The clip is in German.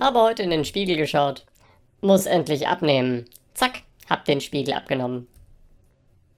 Habe heute in den Spiegel geschaut. Muss endlich abnehmen. Zack, hab den Spiegel abgenommen.